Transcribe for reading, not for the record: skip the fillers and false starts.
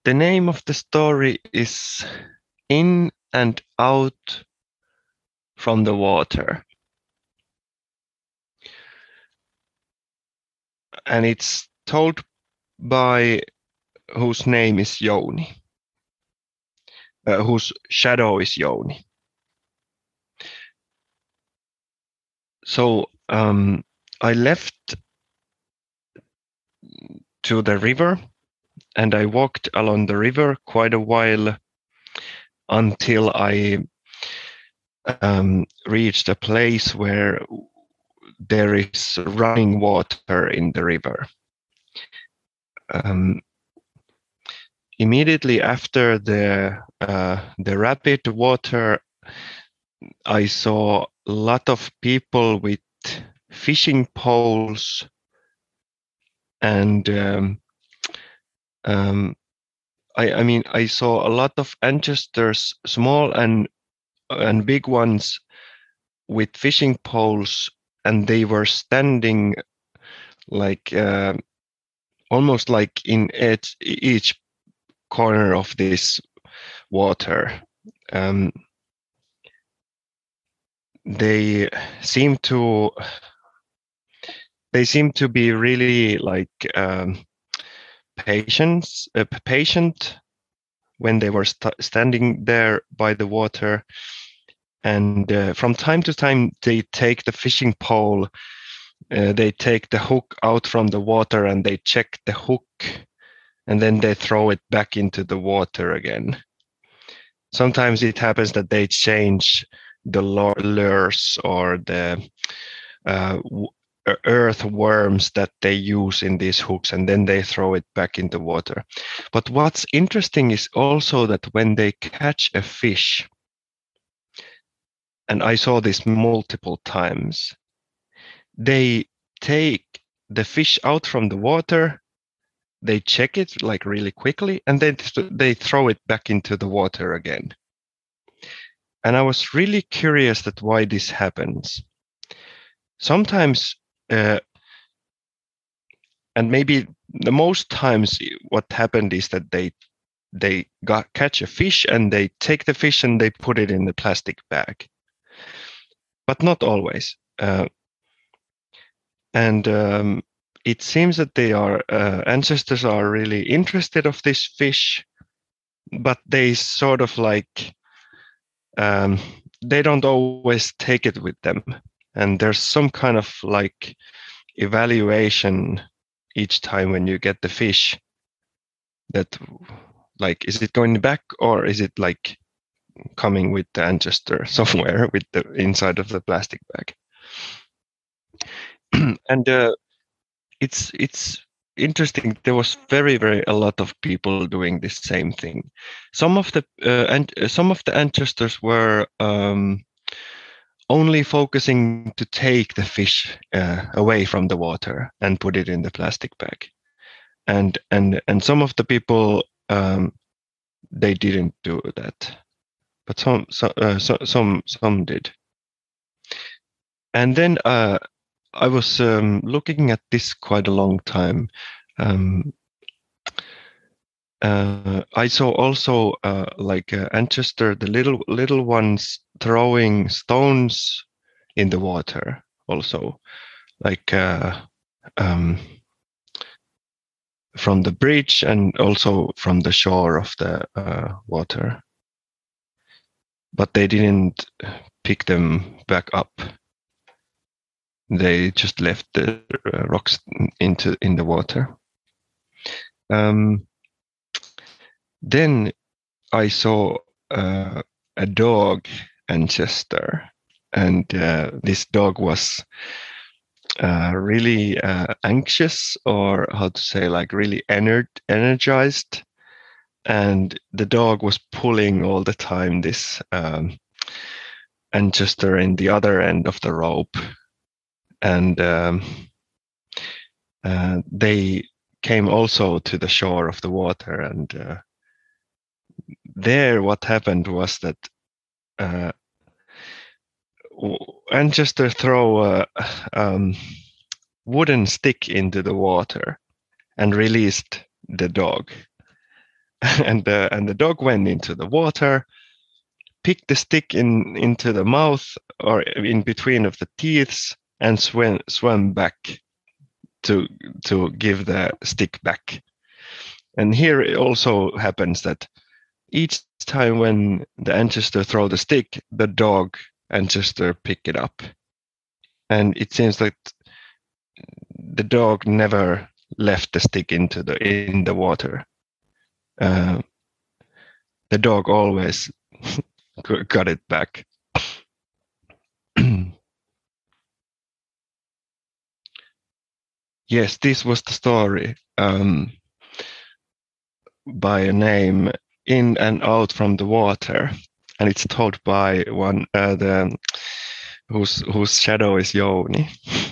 The name of the story is In and Out from the Water. And it's told by whose name is Jouni, whose shadow is Jouni. So I left to the river and I walked along the river quite a while until I reached a place where there is running water in the river. Immediately after the rapid water, I saw a lot of people with fishing poles, and I saw a lot of ancestors, small and big ones, with fishing poles, and they were standing like almost like in each corner of this water. They seem to be really like patient when they were standing there by the water, and from time to time they take the fishing pole, they take the hook out from the water and they check the hook, and then they throw it back into the water again. Sometimes it happens that they change the lures or the earthworms that they use in these hooks, and then they throw it back in the water. But what's interesting is also that when they catch a fish, and I saw this multiple times, they take the fish out from the water, they check it like really quickly, and then they throw it back into the water again. And I was really curious that why this happens. Sometimes, and maybe the most times, what happened is that they catch a fish and they take the fish and they put it in the plastic bag, but not always. And it seems that they are ancestors are really interested of this fish, but they sort of like they don't always take it with them, and there's some kind of like evaluation each time when you get the fish, that like, is it going back or is it like coming with the ancestor somewhere with the inside of the plastic bag. And it's interesting. There was very a lot of people doing this same thing. Some of the ancestors were only focusing to take the fish away from the water and put it in the plastic bag, and some of the people they didn't do that, but some did. And then I was looking at this quite a long time. I saw also like ancestor, the little ones throwing stones in the water also, like from the bridge and also from the shore of the water. But they didn't pick them back up. They just left the rocks in the water. Then I saw a dog ancestor, and this dog was really anxious, or how to say, like really energized, and the dog was pulling all the time this ancestor in the other end of the rope, and they came also to the shore of the water, and there what happened was that ancestor throw a wooden stick into the water and released the dog, and the dog went into the water, picked the stick into the mouth or in between of the teeth, and swam back to give the stick back. And here it also happens that each time when the ancestor throw the stick, the dog ancestor pick it up. And it seems like the dog never left the stick in the water. The dog always got it back. Yes, this was the story by a name In and Out from the Water, and it's told by one whose shadow is Jouni.